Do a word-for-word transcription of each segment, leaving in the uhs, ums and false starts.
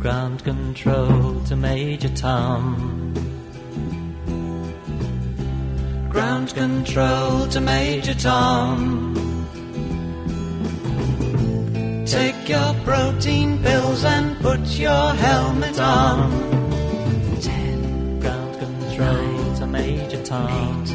ground control to Major Tom. Ground control to Major Tom. Take your protein pills and put your helmet on. Ten. Ground control nine, to Major Tom. Eight,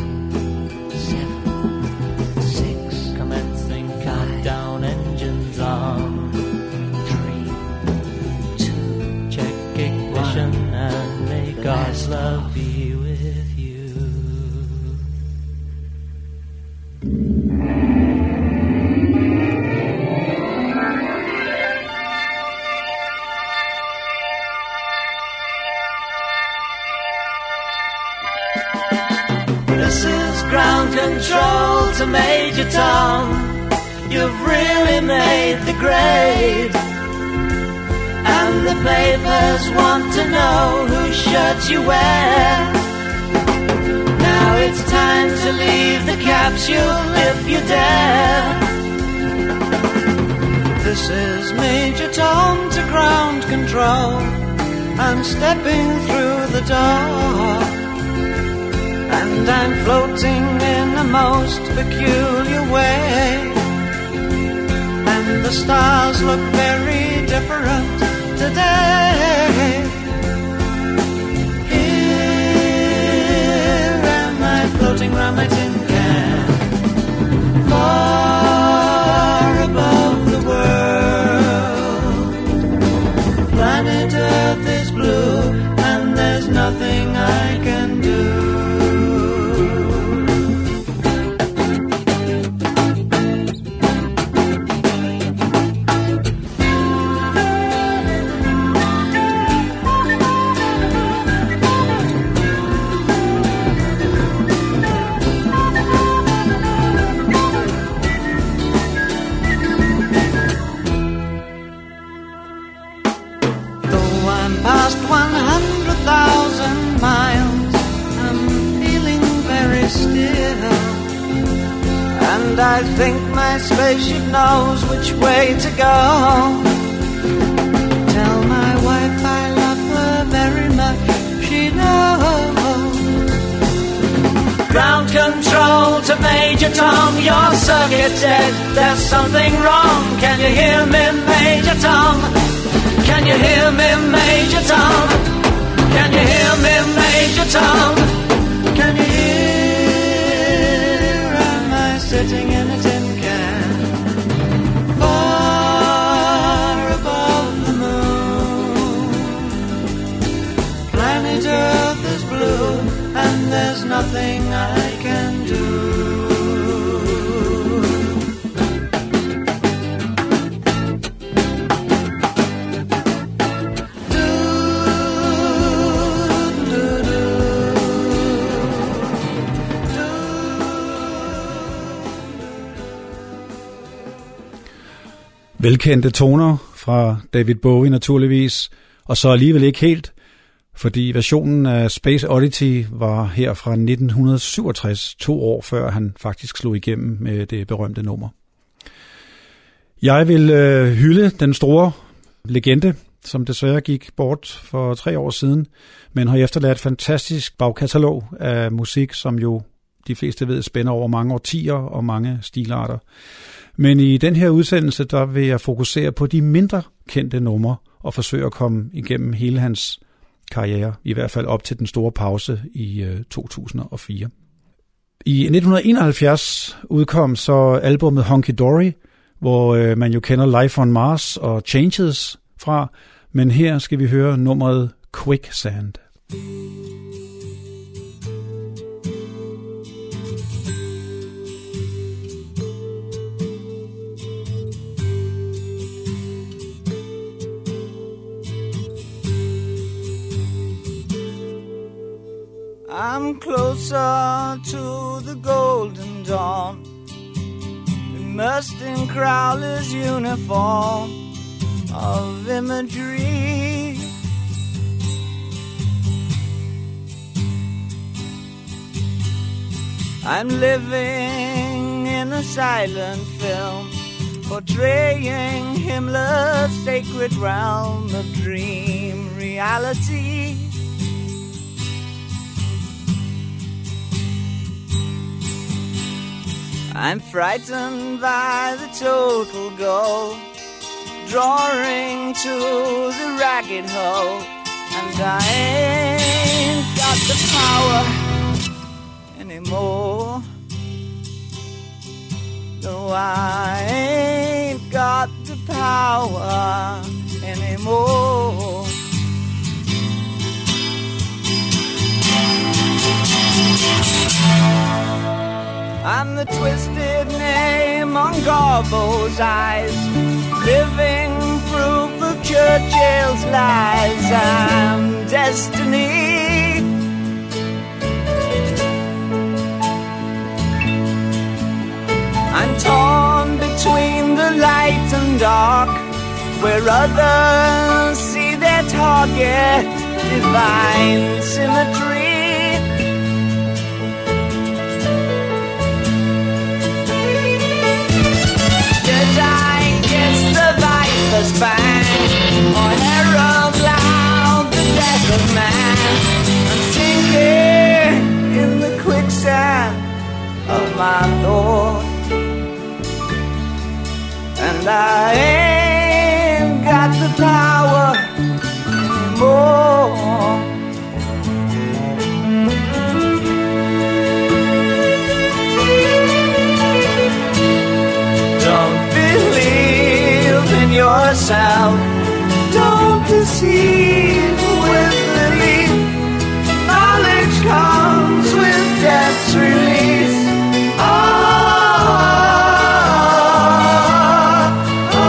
seven, six. Commencing five, countdown, engines on. Three, two, check ignition one, and may God's love be with you. This is ground control to Major Tom. You've really made the grade, and the papers want to know whose shirt you wear. Now it's time to leave the capsule if you dare. This is Major Tom to ground control. I'm stepping through the door, and I'm floating in a most peculiar way. And the stars look very different today. Here am I floating round my tin can, far above the world. Planet Earth is blue, and there's nothing I can do. And I think my spaceship knows which way to go. Tell my wife I love her very much, she knows. Ground control to Major Tom, your circuit's dead, there's something wrong. Can you hear me, Major Tom? Can you hear me, Major Tom? Can you hear me, Major Tom? Can you hear? Sitting in a tin can, far above the moon. Planet Earth is blue, and there's nothing I can do. Velkendte toner fra David Bowie naturligvis, og så alligevel ikke helt, fordi versionen af Space Oddity var her fra nitten syvogtres, to år før han faktisk slog igennem med det berømte nummer. Jeg vil øh, hylde den store legende, som desværre gik bort for tre år siden, men har efterladt et fantastisk bagkatalog af musik, som jo de fleste ved spænder over mange årtier og mange stilarter. Men i den her udsendelse, der vil jeg fokusere på de mindre kendte numre og forsøge at komme igennem hele hans karriere, i hvert fald op til den store pause i øh, to tusind og fire. I nitten enoghalvfjerds udkom så albumet Hunky Dory, hvor øh, man jo kender Life on Mars og Changes fra, men her skal vi høre nummeret Quicksand. I'm closer to the golden dawn, immersed in Crowley's uniform of imagery. I'm living in a silent film, portraying Himmler's sacred realm of dreams. reality. I'm frightened by the total goal, drawing to the ragged hole, and I ain't got the power anymore. No, I ain't got the power anymore. I'm the twisted name on Garbo's eyes, living proof of Churchill's lies. I'm destiny. I'm torn between the light and dark, where others see their target, divine symmetry. I kiss the viper's fang, or herald loud the death of man. I'm sinking in the quicksand of my thought, and I ain't got the power anymore. Yourself, don't deceive with belief. Knowledge comes with death's release. Oh, oh,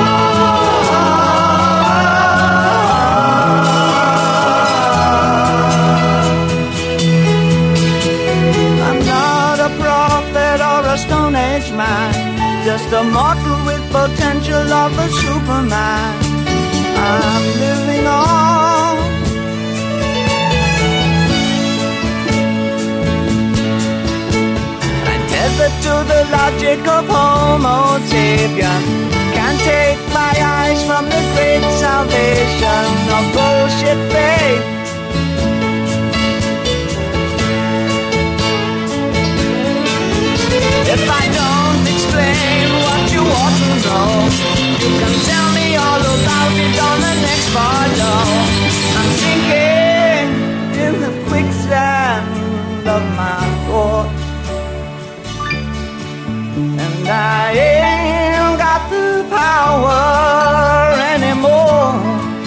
oh. I'm not a prophet or a Stone Age man, just a mortal with potential of a Superman. I'm living on. I'm tethered to the logic of Homo sapien. Can't take my eyes from the great salvation of bullshit faith. If I don't explain what you want to know, you can tell me all about it on the next follow. I'm sinking in the quicksand of my thought, and I ain't got the power anymore.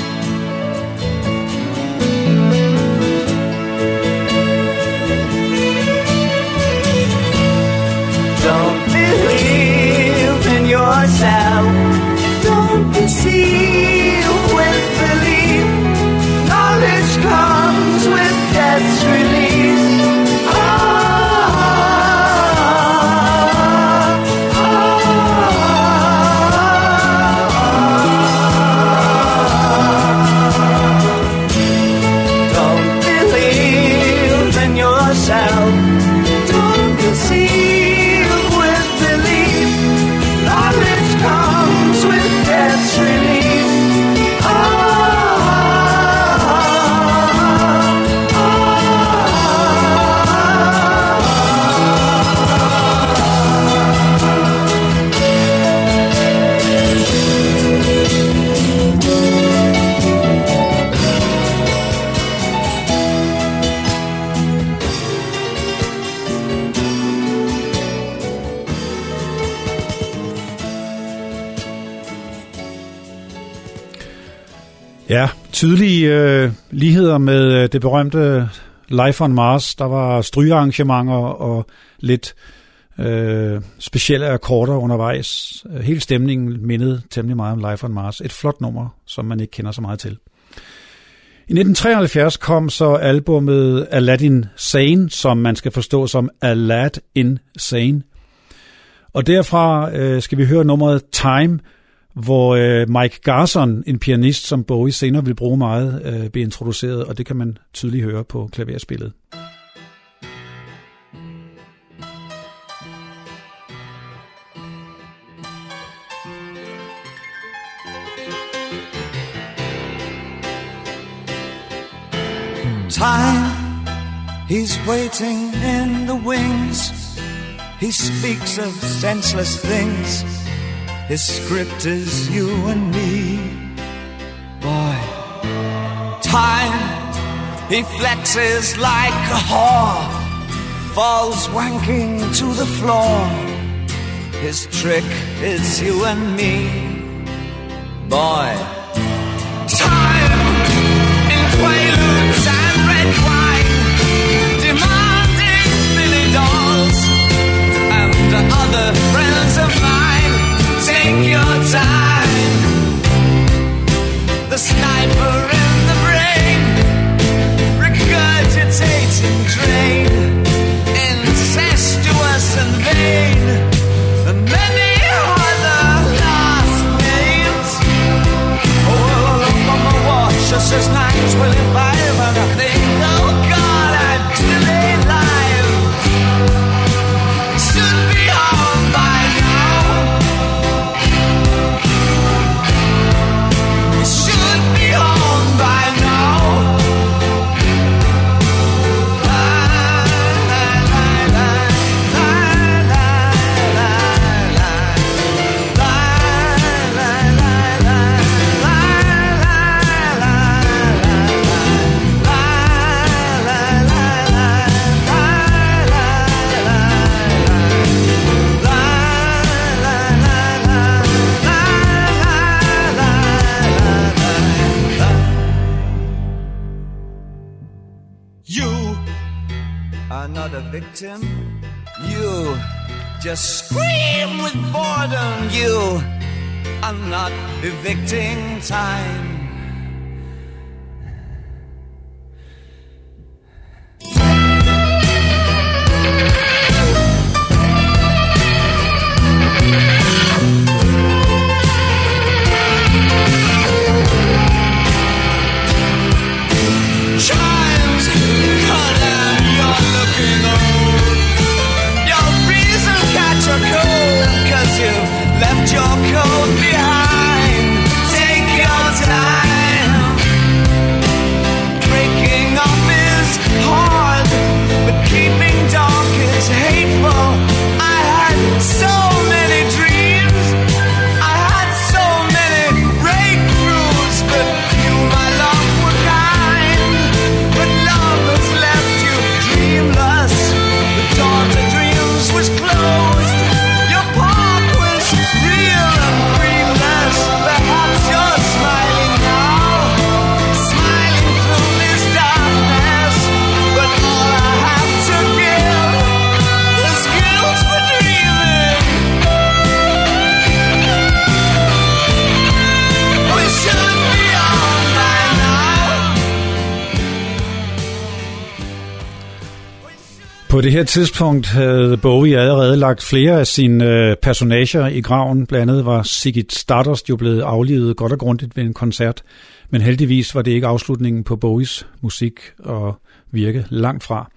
Don't believe in yourself. Don't deceive with belief. Knowledge comes with death's release. Oh, oh, oh. Don't believe in yourself. Don't deceive. Ja, tydelige øh, ligheder med øh, det berømte Life on Mars. Der var strygearrangementer og lidt øh, specielle akkorder undervejs. Hele stemningen mindede temmelig meget om Life on Mars. Et flot nummer, som man ikke kender så meget til. I nitten treoghalvfjerds kom så albummet Aladdin Sane, som man skal forstå som Aladdin Sane. Og derfra øh, skal vi høre nummeret Time, hvor øh, Mike Garson, en pianist, som Bowie senere vil bruge meget, øh, bliver introduceret, og det kan man tydeligt høre på klaverspillet. Time, he's waiting in the wings. He speaks of senseless things. His script is you and me. Boy, time, he flexes like a whore, falls wanking to the floor. His trick is you and me. Boy, time, in quaaludes and red wine, demanding Billy dolls and other friends of mine. Take your time. The sniper in the brain, regurgitating drain, incestuous and vain, and many other last names. Oh, look on my watch, just as nights will imbibe, and I think, oh God, I'm still alive. It should be on by now. It should be on by now. Not a victim. You just scream with boredom. You are not evicting time. Left your coat behind. Take your time. Breaking up is hard, but keeping dark is hateful. I had so many dreams, I had so many breakthroughs, but you, my love, were kind. But love has left you dreamless. The door to dreams was closed. På det her tidspunkt havde Bowie allerede lagt flere af sine øh, personager i graven. Blandt andet var Ziggy Stardust jo blevet aflivet godt og grundigt ved en koncert. Men heldigvis var det ikke afslutningen på Bowies musik og virke langt fra.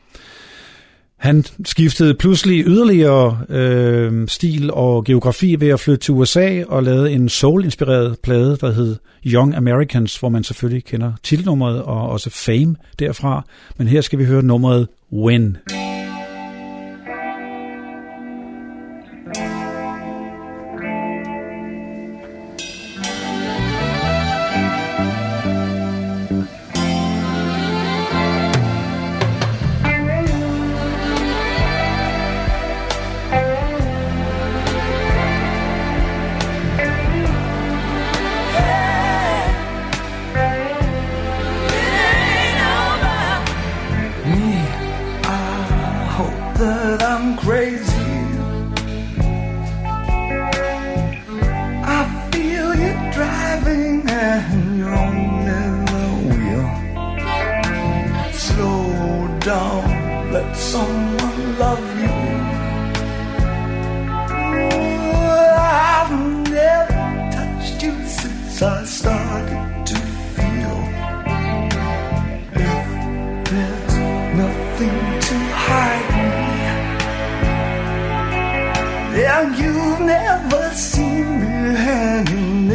Han skiftede pludselig yderligere øh, stil og geografi ved at flytte til U S A og lavede en soul-inspireret plade, der hed Young Americans, hvor man selvfølgelig kender titelnummeret og også Fame derfra. Men her skal vi høre nummeret When.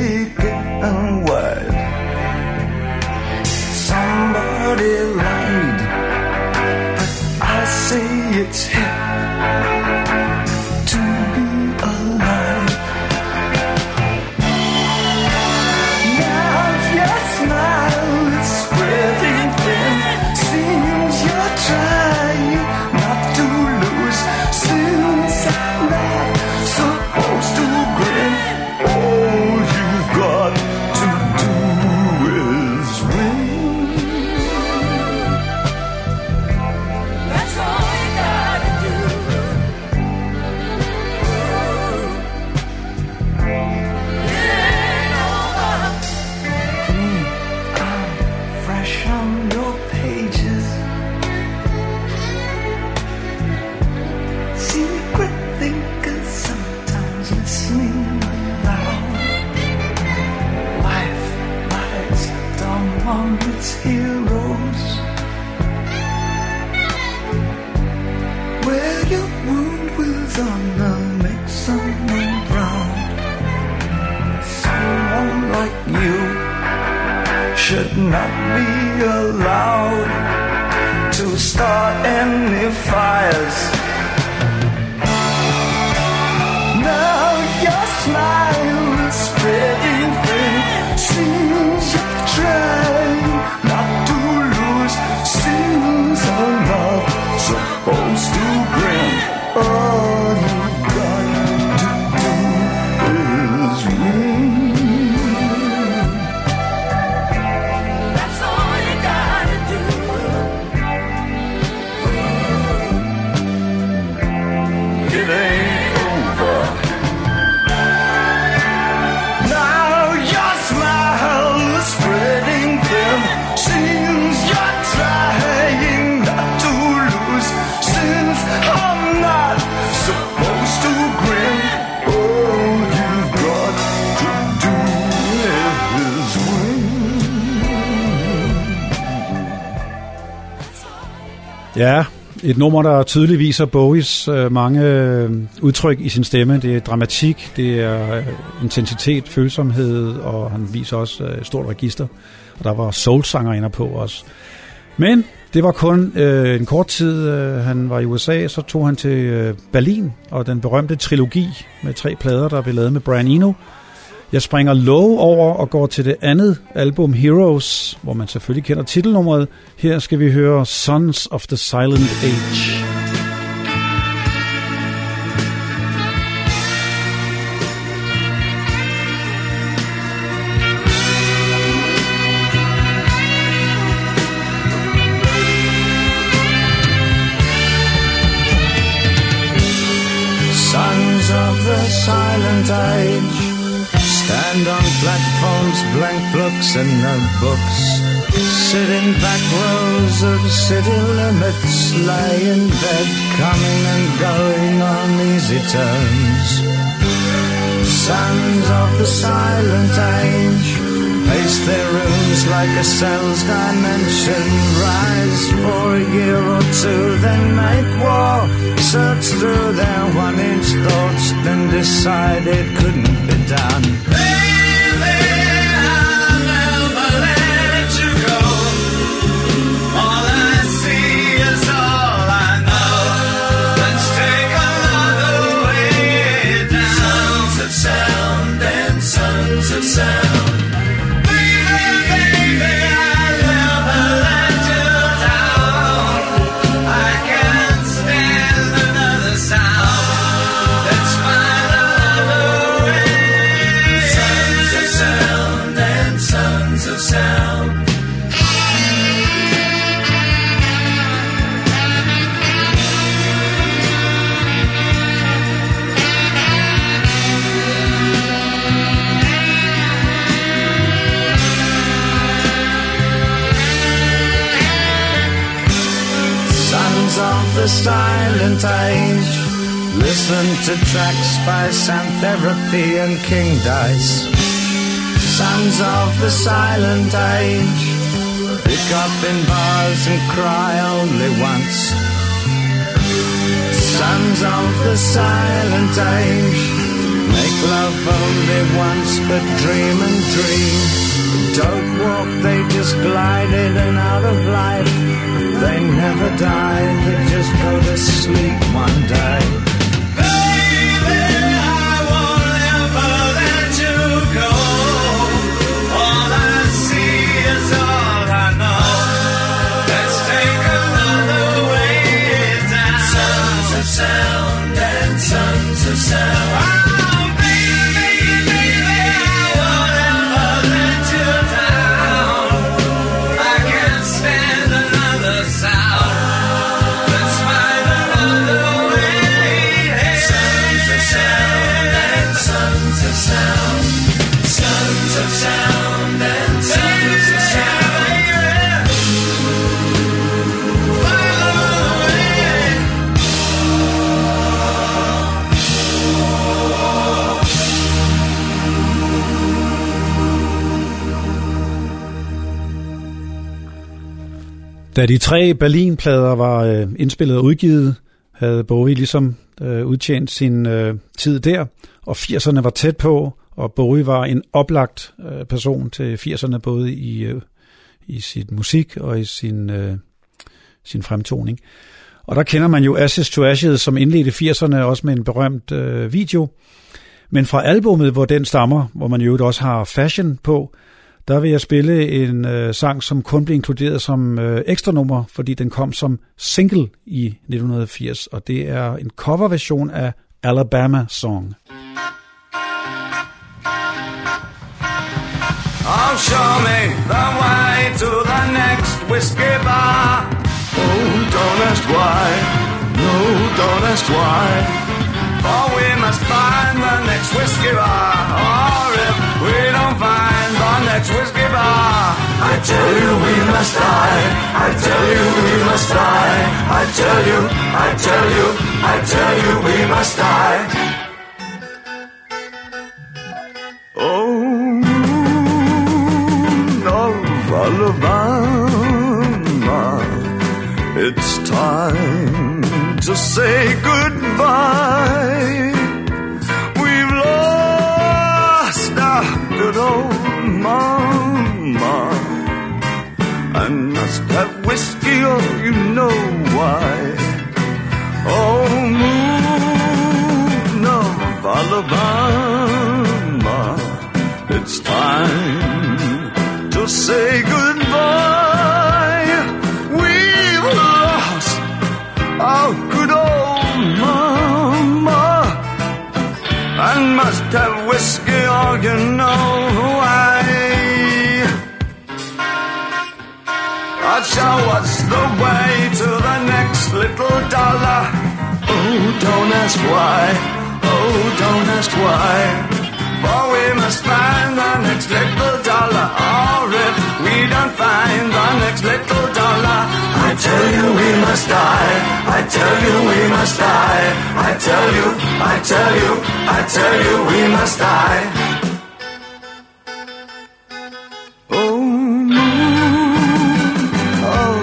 Somebody lied among its heroes. Wear your wound with honor, make someone proud. Someone like you should not be allowed to start any fires. Now your smile is spreading thin. Seems you're trying not to lose. Seems I'm not supposed to grin. All you've got to do is win. That's all you gotta do. It ain't over. Now your smile is spreading thin. Seems you're trying not to lose. Since I'm not supposed to grin, all you've got to do is win. Ja, et nummer, der tydeligt viser Bowies øh, mange øh, udtryk i sin stemme. Det er dramatik, det er øh, intensitet, følsomhed, og han viser også øh, et stort register. Og der var soul-sanger inde på også. Men det var kun øh, en kort tid, øh, han var i U S A, så tog han til øh, Berlin, og den berømte trilogi med tre plader, der blev lavet med Brian Eno. Jeg springer Low over og går til det andet album, Heroes, hvor man selvfølgelig kender titelnummeret. Her skal vi høre Sons of the Silent Age. Sons of the silent age stand on platforms, blank books and notebooks. Sit in back rows of city limits, lie in bed, coming and going on easy terms. Sons of the silent age pace their rooms like a cell's dimension. Rise for a year or two, then make war. Search through their one-inch thoughts, then decide it couldn't be done. Baby, I'll never let you go. All I see is all I know. Let's take another way down. Sons of sound and sons of sound. The silent age. Listen to tracks by Sound Therapy and King Dice. Sons of the silent age. Pick up in bars and cry only once. Sons of the silent age. Make love only once, but dream and dream. Don't walk, they just glide in and out of life. They never die, they just go to sleep one day. Baby, I won't ever let you go. All I see is all I know. Let's take another way down. Sons of sound and sons of sound. Oh, baby, baby, I won't ever let you down. I can't stand another sound. Let's find another way Da de tre Berlin-plader var øh, indspillet og udgivet, havde Bowie ligesom øh, udtjent sin øh, tid der, og firserne var tæt på, og Bowie var en oplagt øh, person til firserne, både i, øh, i sit musik og i sin, øh, sin fremtoning. Og der kender man jo Ashes to Ashes, som indledte firserne, også med en berømt øh, video. Men fra albummet, hvor den stammer, hvor man jo også har Fashion på, der vil jeg spille en øh, sang, som kun blev inkluderet som øh, ekstra nummer, fordi den kom som single i nitten firs, og det er en coverversion af Alabama Song. Oh, show me the way to the next whiskey bar. Oh, don't ask why. No, don't ask why. For we must find the next whiskey bar. Or if we don't find the next whiskey bar, I tell you we must die. I tell you we must die. I tell you, I tell you, I tell you we must die. Oh, Alabama, it's time to say goodbye. We've lost our good old mama, and must have whiskey, oh, you know why. Oh, moon of Alabama, it's time to say goodbye. We've lost our good old mama, and must have whiskey, or you know why. I'll show us the way to the next little dollar. Oh, don't ask why. Oh, don't ask why. For we must find the next little dollar. Or if we don't find the next little dollar, I tell you we must die. I tell you we must die. I tell you, I tell you, I tell you we must die. Oh, moon of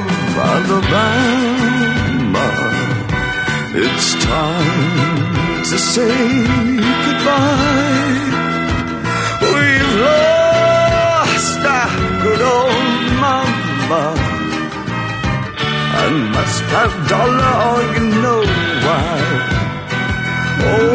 Alabama, it's time to say goodbye. We've lost our good old mama, and must have dollar, or you know why. Oh,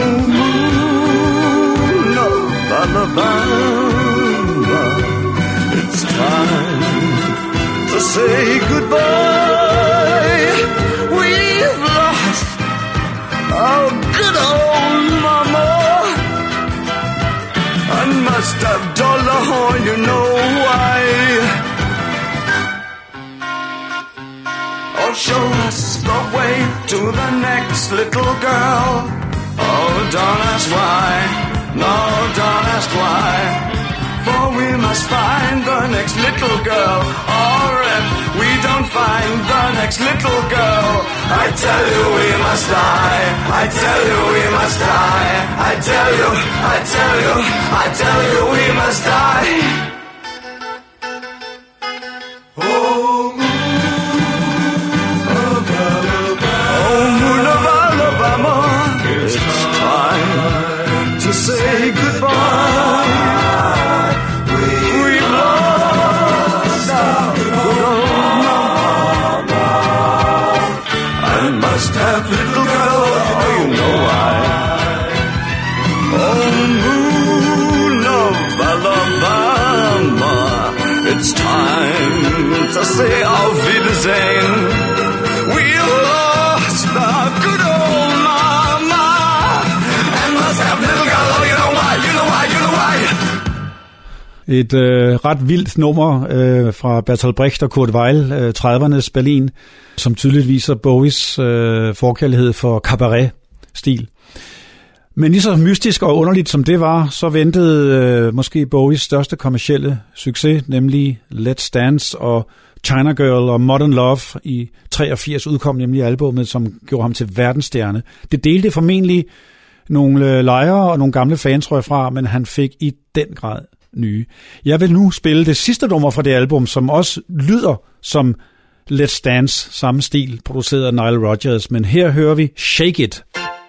moon of Alabama, it's time to say goodbye. We've lost our good old mama, and must have dollar, or you know why. Oh, show us the way to the next little girl. Oh, don't ask why. No, don't ask why. For we must find the next little girl. Or if we don't find the next little girl, I tell you we must die. I tell you we must die. I tell you, I tell you, I tell you we must die. Oh, moon of Alabama, oh, moon of Alabama, it's time to say goodbye. We've lost our good old mama, and must have little girl, oh, you know why. Oh, moon of Alabama, it's time to say auf Wiedersehen. We've lost our good old mama, and must have little girl, oh, you know why, you know why, you know why. Et øh, ret vildt nummer øh, fra Bertolt Brecht og Kurt Weill, øh, tredivernes Berlin, som tydeligt viser Bowies øh, forkærlighed for cabaret-stil. Men lige så mystisk og underligt som det var, så ventede øh, måske Bowies største kommercielle succes, nemlig Let's Dance og China Girl og Modern Love i treogfirs udkom nemlig albumet, som gjorde ham til verdensstjerne. Det delte formentlig nogle lejre og nogle gamle fans, tror jeg, fra, men han fik i den grad nye. Jeg vil nu spille det sidste nummer fra det album, som også lyder som Let's Dance, samme stil, produceret af Nile Rodgers, men her hører vi Shake It.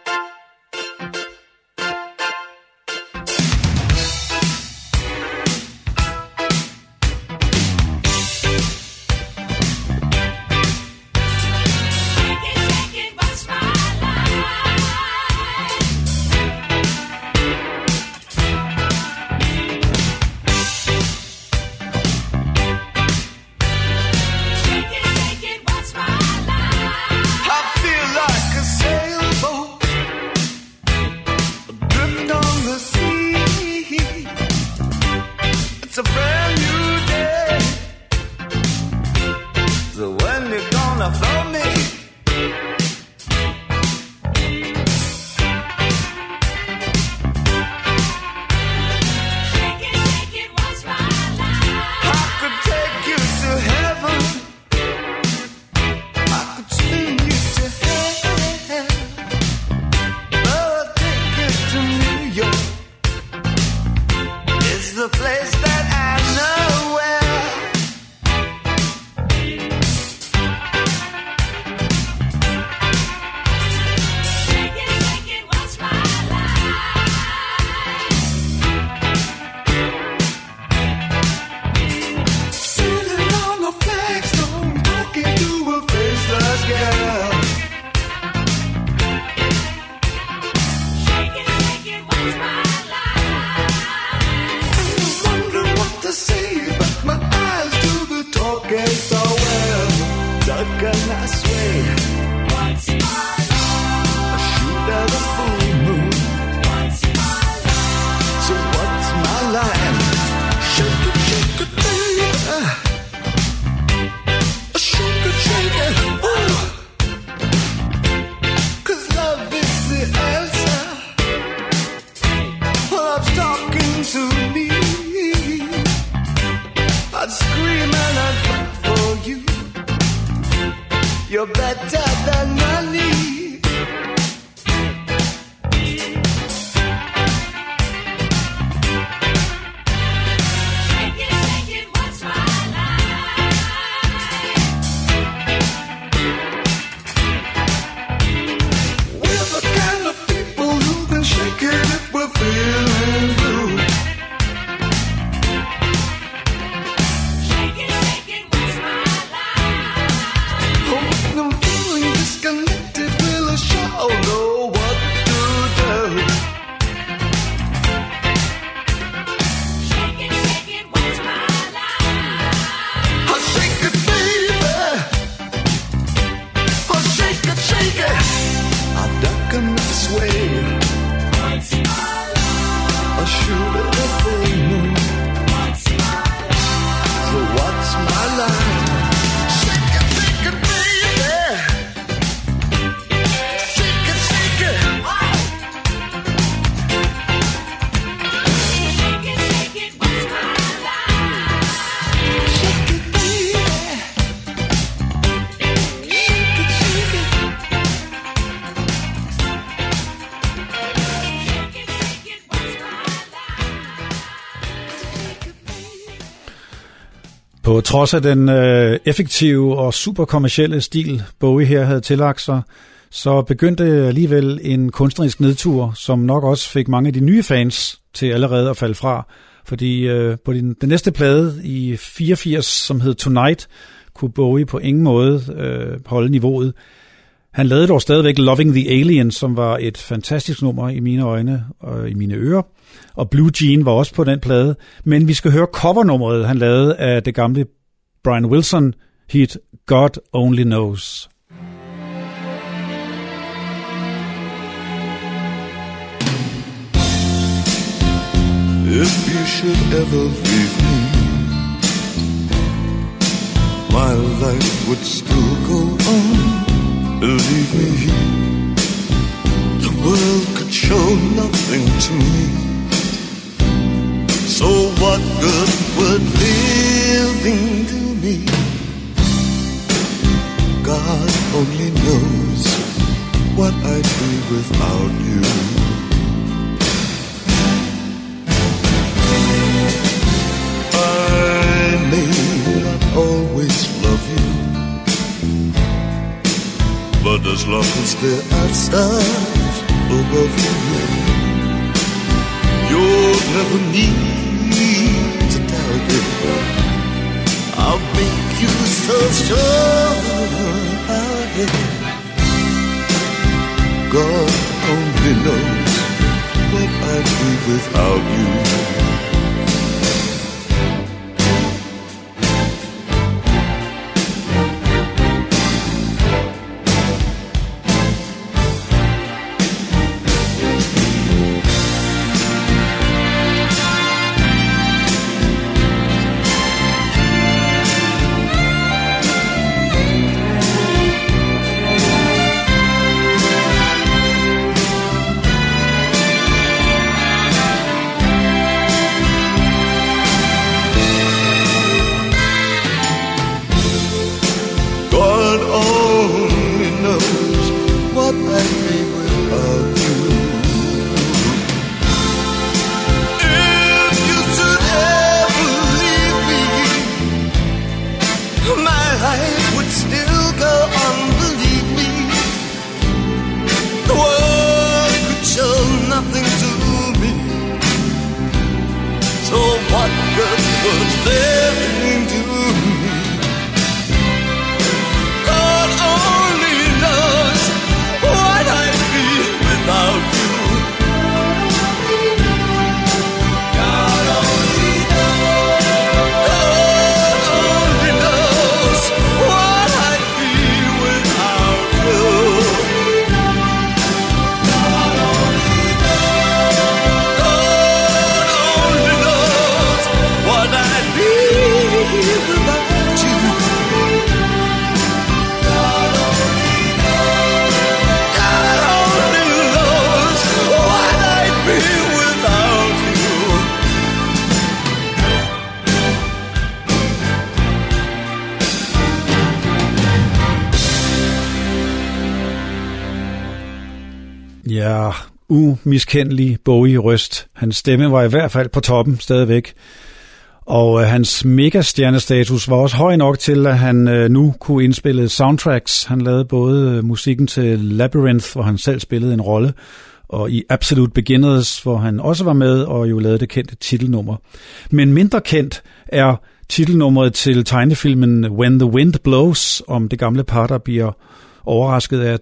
På trods af den øh, effektive og super kommercielle stil, Bowie her havde tillagt sig, så begyndte alligevel en kunstnerisk nedtur, som nok også fik mange af de nye fans til allerede at falde fra. Fordi øh, på den, den næste plade i fireogfirs, som hed Tonight, kunne Bowie på ingen måde øh, holde niveauet. Han lavede dog stadigvæk Loving the Alien, som var et fantastisk nummer i mine øjne og i mine ører. Og Blue Jean var også på den plade. Men vi skal høre covernummeret, han lavede af det gamle Brian Wilson hit God Only Knows. If you should ever leave me, my life would still go on. Believe me, the world could show nothing to me. So what good would living do me? God only knows what I'd be without you. I may not always love you, But as long as there are stars above you, you'll never need to doubt it. I'll make you so sure about it. God only knows what I'd be without you. Ja, umiskendelig Bowie-røst. Hans stemme var i hvert fald på toppen stadigvæk. Og øh, hans megastjernestatus var også høj nok til, at han øh, nu kunne indspille soundtracks. Han lavede både øh, musikken til Labyrinth, hvor han selv spillede en rolle, og i Absolute Beginners, hvor han også var med og jo lavede det kendte titelnummer. Men mindre kendt er titelnummeret til tegnefilmen When the Wind Blows, om det gamle par, der bliver overrasket af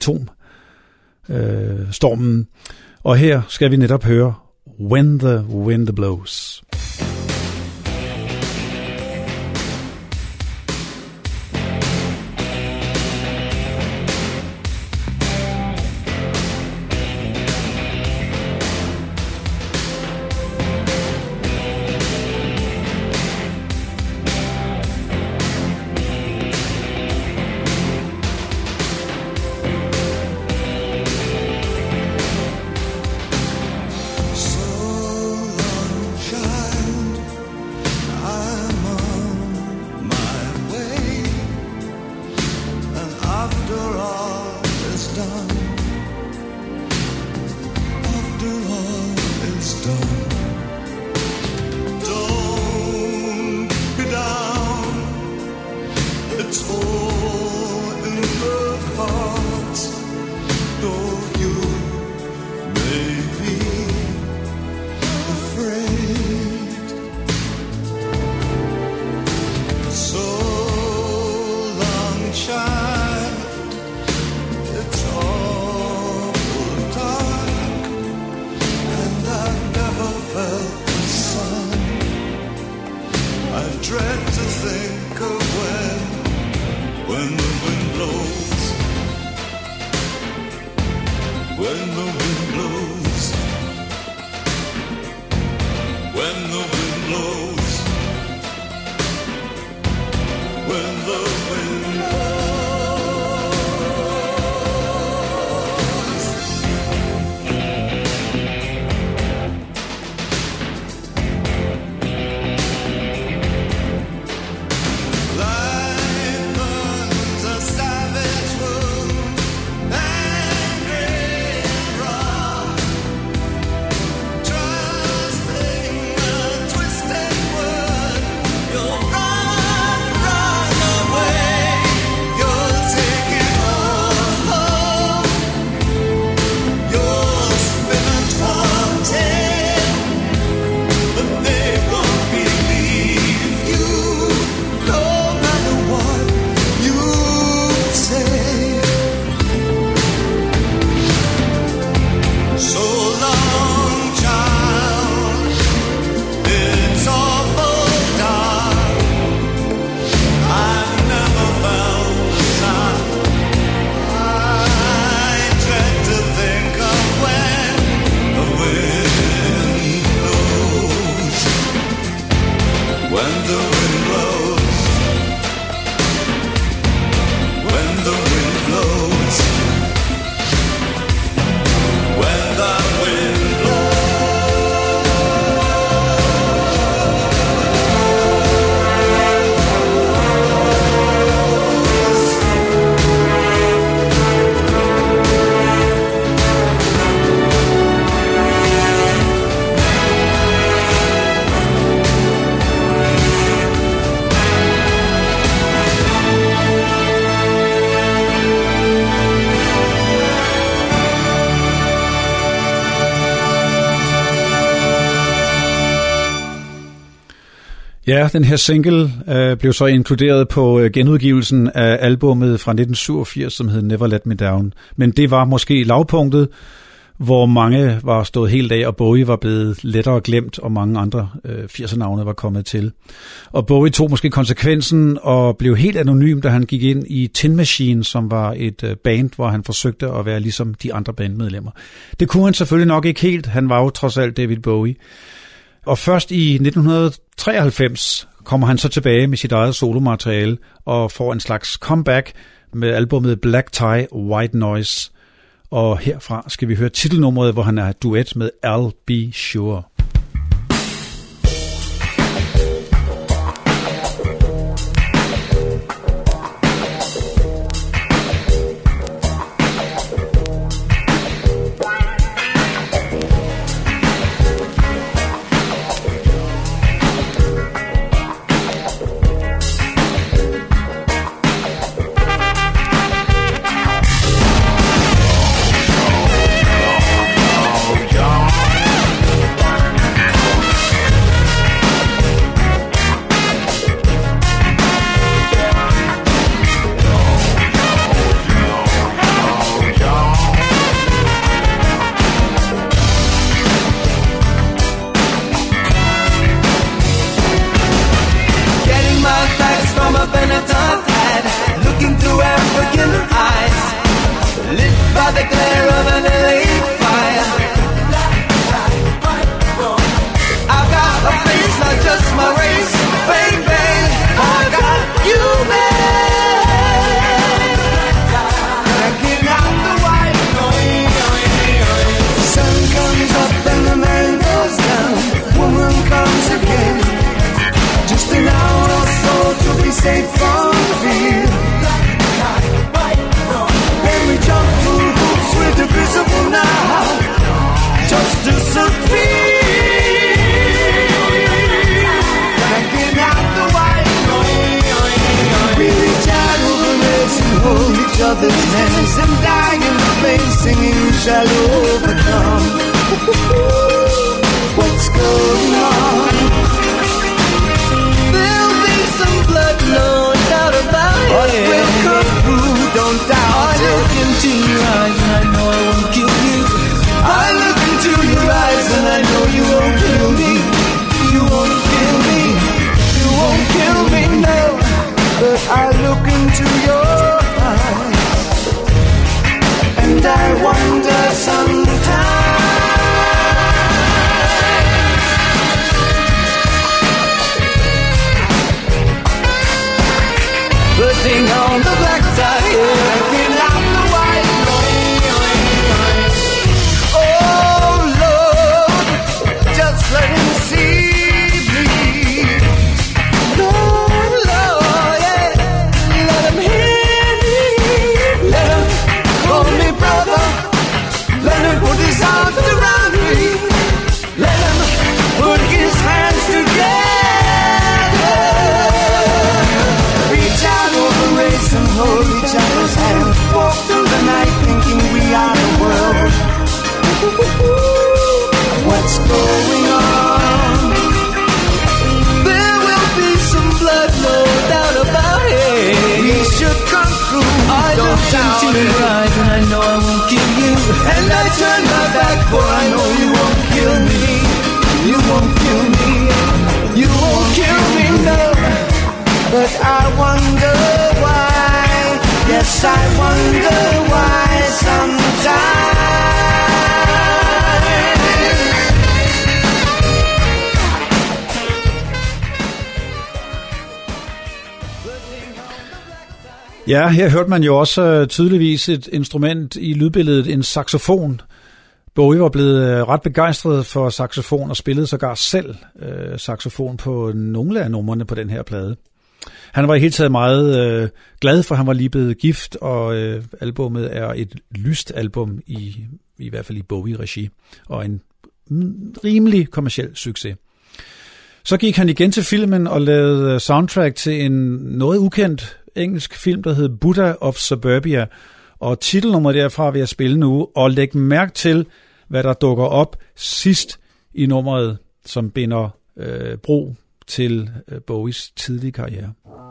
atomstormen. Øh, og her skal vi netop høre When the Wind Blows. You'll run, run away. Ja, den her single øh, blev så inkluderet på øh, genudgivelsen af albummet fra nitten syvogfirs, som hed Never Let Me Down. Men det var måske lavpunktet, hvor mange var stået helt af, og Bowie var blevet lettere glemt, og mange andre øh, firser-navne var kommet til. Og Bowie tog måske konsekvensen og blev helt anonym, da han gik ind i Tin Machine, som var et øh, band, hvor han forsøgte at være ligesom de andre bandmedlemmer. Det kunne han selvfølgelig nok ikke helt. Han var jo trods alt David Bowie. Og først i nitten treoghalvfems kommer han så tilbage med sit eget solomateriale og får en slags comeback med albumet Black Tie, White Noise. Og herfra skal vi høre titelnummeret, hvor han er duet med I'll Be Sure. Ja, her hørte man jo også tydeligvis et instrument i lydbilledet, en saxofon. Bowie var blevet ret begejstret for saxofon og spillede sågar selv øh, saxofon på nogle af numrene på den her plade. Han var i hele taget meget øh, glad, for han var lige blevet gift, og øh, albummet er et lyst album, i, i hvert fald i Bowie-regi, og en rimelig kommerciel succes. Så gik han igen til filmen og lavede soundtrack til en noget ukendt engelsk film, der hed Buddha of Suburbia, og titelnummeret derfra vil jeg spille nu, og læg mærke til, hvad der dukker op sidst i nummeret, som binder øh, bro til Bowies tidlige karriere.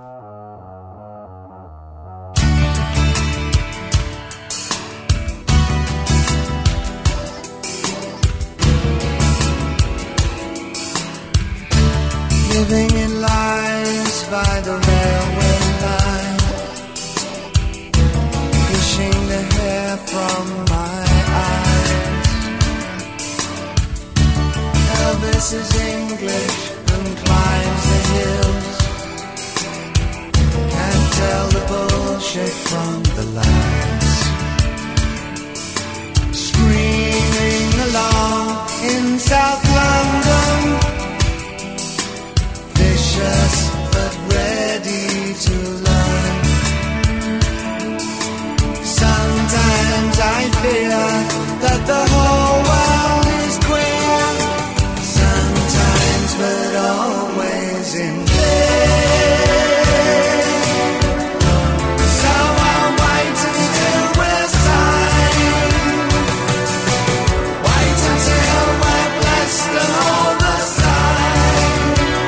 Living in lines by the railway line, pushing the hair from my eyes. Elvis is English and climbs the hills, can't tell the bullshit from the lies. Screaming along in South London, vicious but ready to learn. Sometimes I fear that the whole world is queer, sometimes but always in fear. So I'll wait until we're signed, wait until we're blessed and all the sign.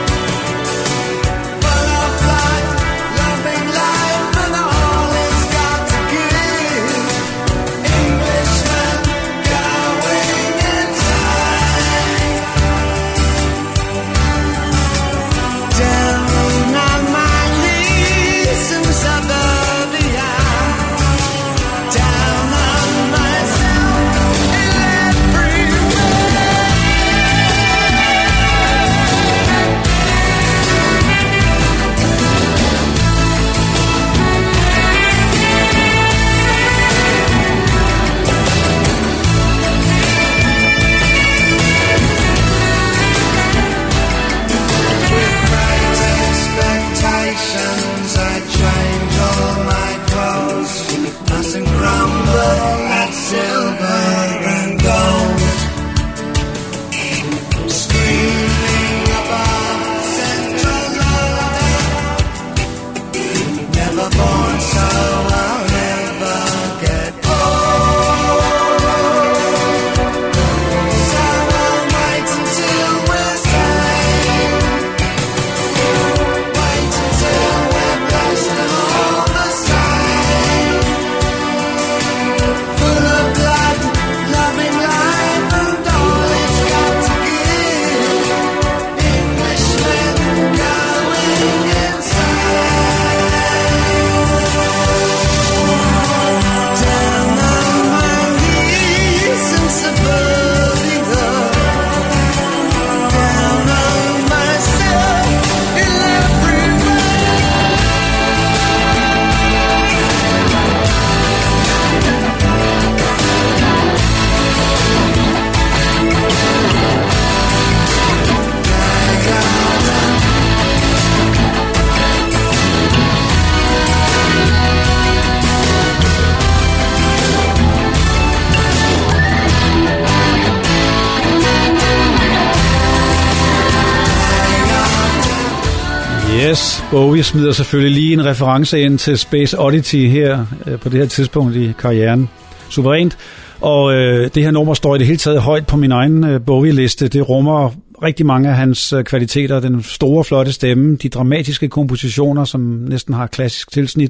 Yes, Bowie smider selvfølgelig lige en reference ind til Space Oddity her øh, på det her tidspunkt i karrieren. Suverænt. Og øh, det her nummer står i det hele taget højt på min egen øh, Bowie-liste. Det rummer rigtig mange af hans øh, kvaliteter. Den store, flotte stemme, de dramatiske kompositioner, som næsten har klassisk tilsnit,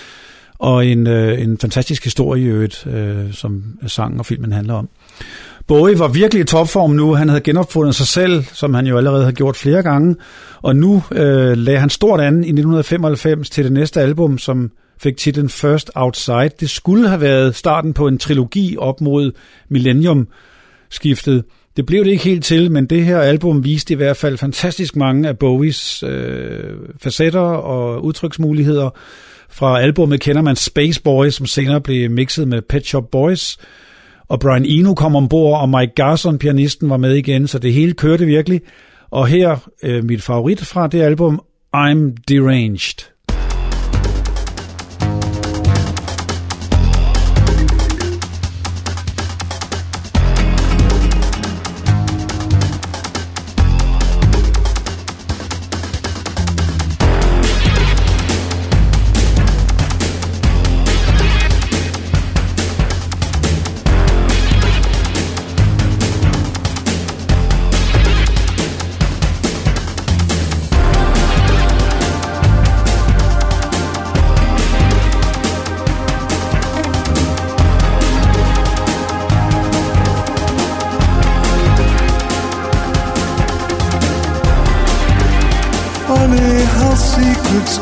og en, øh, en fantastisk historie i øvrigt, øh, som sangen og filmen handler om. Bowie var virkelig i topform nu. Han havde genopfundet sig selv, som han jo allerede havde gjort flere gange. Og nu øh, lagde han stort an i nitten femoghalvfems til det næste album, som fik titlen First Outside. Det skulle have været starten på en trilogi op mod Millennium-skiftet. Det blev det ikke helt til, men det her album viste i hvert fald fantastisk mange af Bowies øh, facetter og udtryksmuligheder. Fra albumet kender man Space Boys, som senere blev mixet med Pet Shop Boys. Og Brian Eno kom ombord, og Mike Garson, pianisten, var med igen, så det hele kørte virkelig. Og her øh, mit favorit fra det album, I'm Deranged.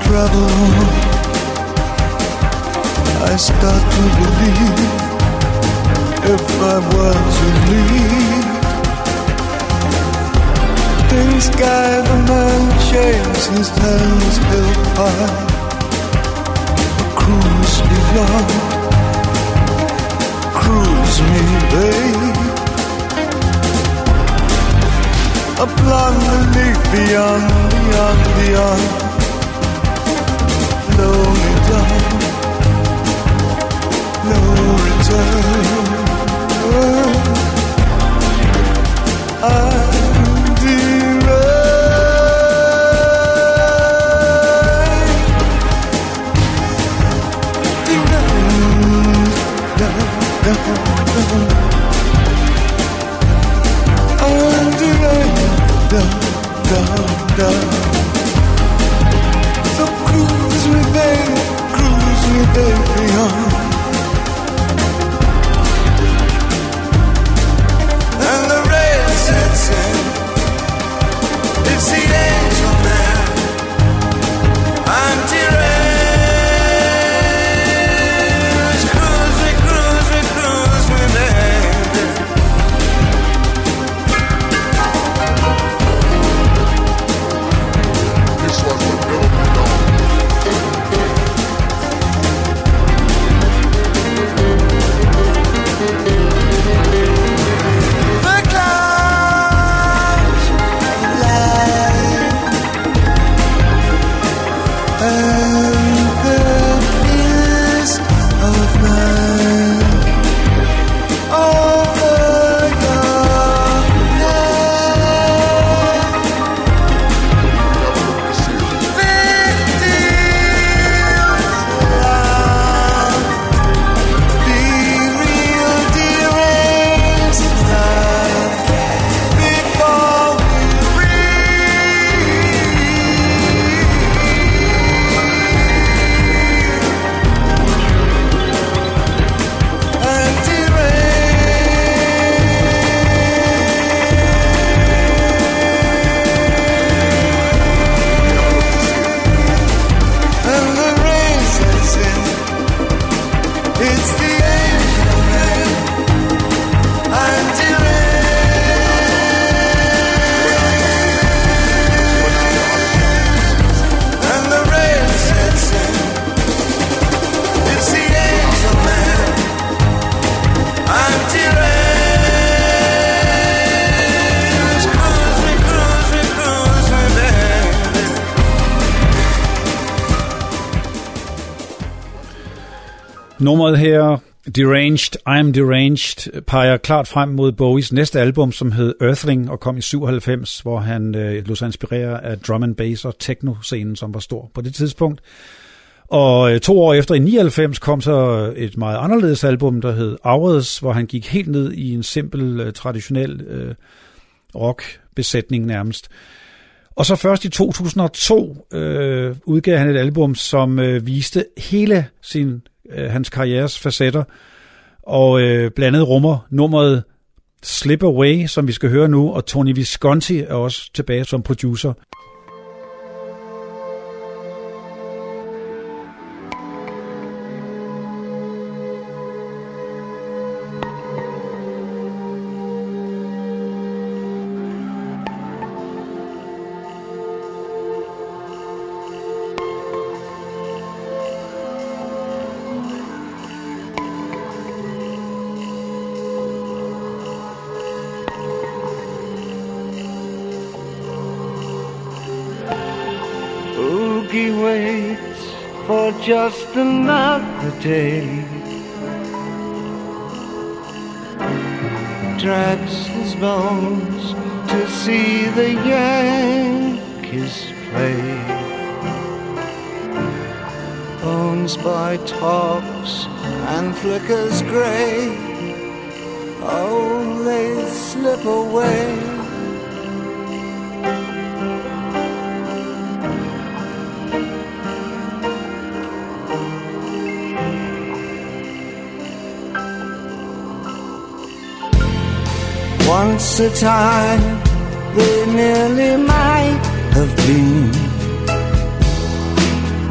travel on, I start to believe if I were to leave, in sky the man shaves his hands held high, a cruise beyond, cruise me, babe. A blonde leaf beyond, beyond, beyond. Blow me down, no return. I'm deranged, deranged, deranged. I'm deranged, down, down, down. So cruise me, baby, cruise me, baby, on. And the rain sets in. It's the angel man. I'm deranged. Cruise me, cruise me, cruise me, baby. This was the Nummeret her, Deranged, I'm Deranged, peger klart frem mod Bowies næste album, som hed Earthling, og kom i syvoghalvfems, hvor han øh, lod sig inspirere af drum and bass og techno-scenen, som var stor på det tidspunkt. Og øh, to år efter, i nioghalvfems, kom så et meget anderledes album, der hed Hours, hvor han gik helt ned i en simpel, øh, traditionel øh, rock-besætning nærmest. Og så først i to tusind og to øh, udgav han et album, som øh, viste hele sin hans karrieres facetter, og øh, blandt andet rummer nummeret Slip Away, som vi skal høre nu, og Tony Visconti er også tilbage som producer. Just another day, drags his bones to see the Yankees play. Bones by tops and flickers grey, oh, they slip away. Once a time they nearly might have been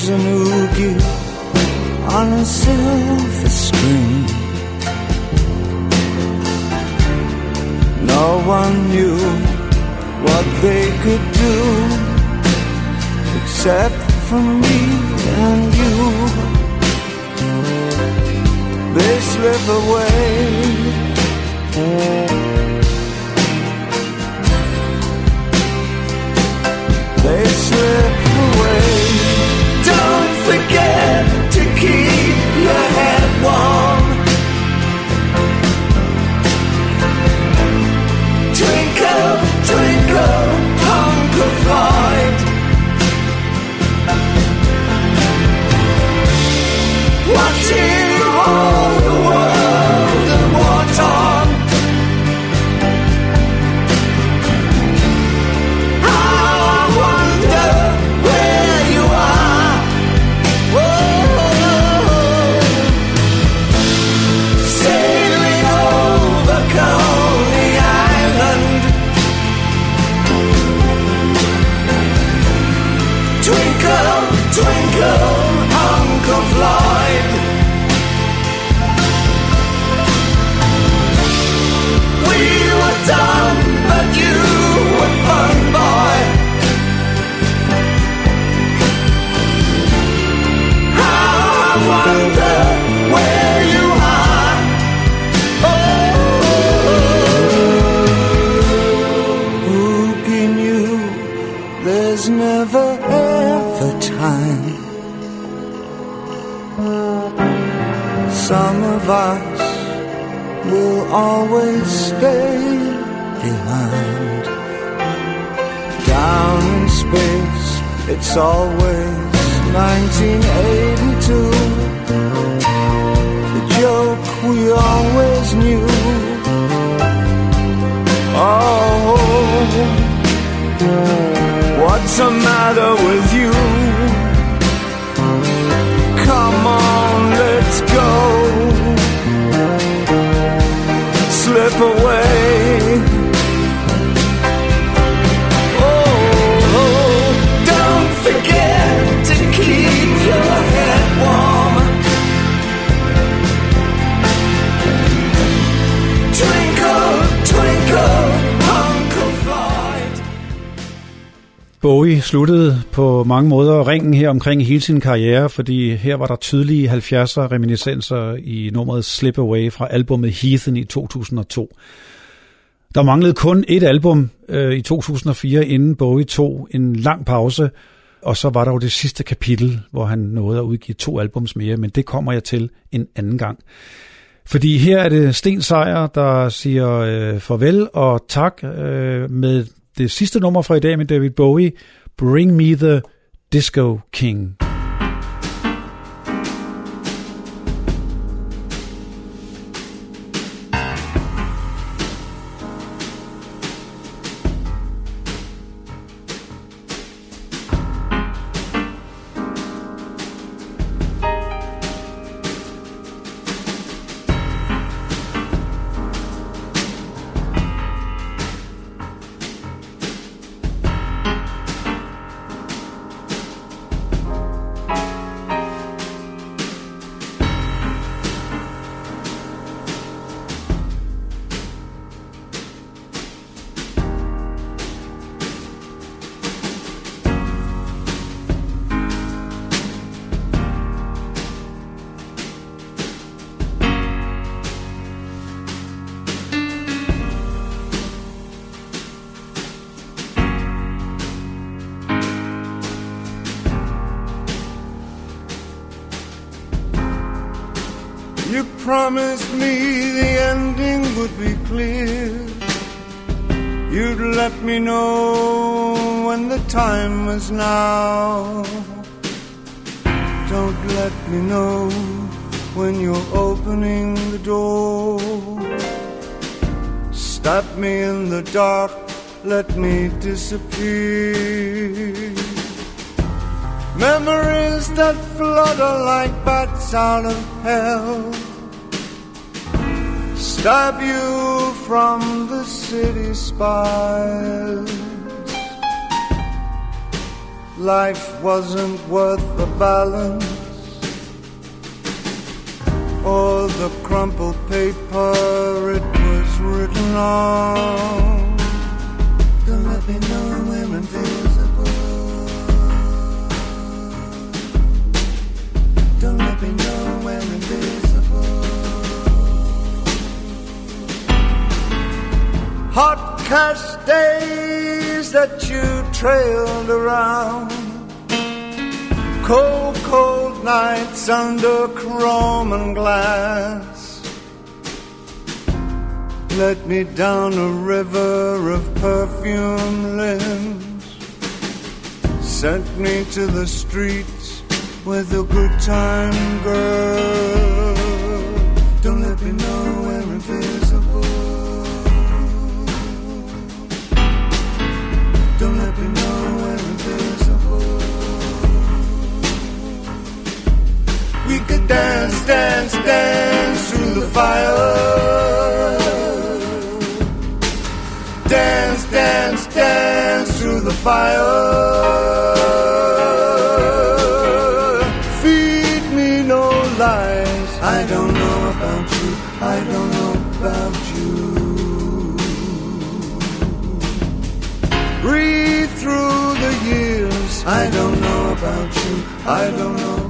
was an oogie on a silver screen. No one knew what they could do except for me and you. They slip away. They slip away. Don't forget to keep your head warm. Twinkle, twinkle, hunk of light. Watching all the world in wartime. I wonder where you are. Whoa. Sailing over Coney Island. Twinkle, twinkle, hunk of light. We were dumb, but you were fun, boy. I wonder where you are. Oh, who knew there's never ever time. Some of us will always stay behind. Down in space, it's always nineteen eighty-two. The joke we always knew. Oh, what's the matter with you? Come on, let's go. Slip away. Oh, oh, don't forget to keep your head warm. Twinkle, twinkle, hunk of light. Bowie sluttede på mange måder ringen her omkring hele sin karriere, fordi her var der tydelige halvfjerdser reminiscenser i nummeret Slip Away fra albumet Heathen i to tusind og to. Der manglede kun et album øh, i to tusind og fire, inden Bowie tog en lang pause, og så var der jo det sidste kapitel, hvor han nåede at udgive to albums mere, men det kommer jeg til en anden gang. Fordi her er det Sten Sejer, der siger øh, farvel og tak øh, med det sidste nummer fra i dag med David Bowie, Bring Me the Disco King. You promised me the ending would be clear. You'd let me know when the time was now. Don't let me know when you're opening the door. Stop me in the dark, let me disappear. Memories that flutter like bats out of hell stop you from the city spires. life wasn't worth the balance or the crumpled paper it was written on. Don't let me know we're invisible. Don't let me know we're invisible. Hot cast days that you trailed around, cold, cold nights under chrome and glass, led me down a river of perfume limbs, sent me to the streets with a good time girl. Don't let me know we're invisible. Don't let me know we're invisible. We could dance, dance, dance through the fire. Dance, dance, dance through the fire. Feed me no lies. I don't know about you. I don't know about you. Breathe through the years. I don't know about you. I don't know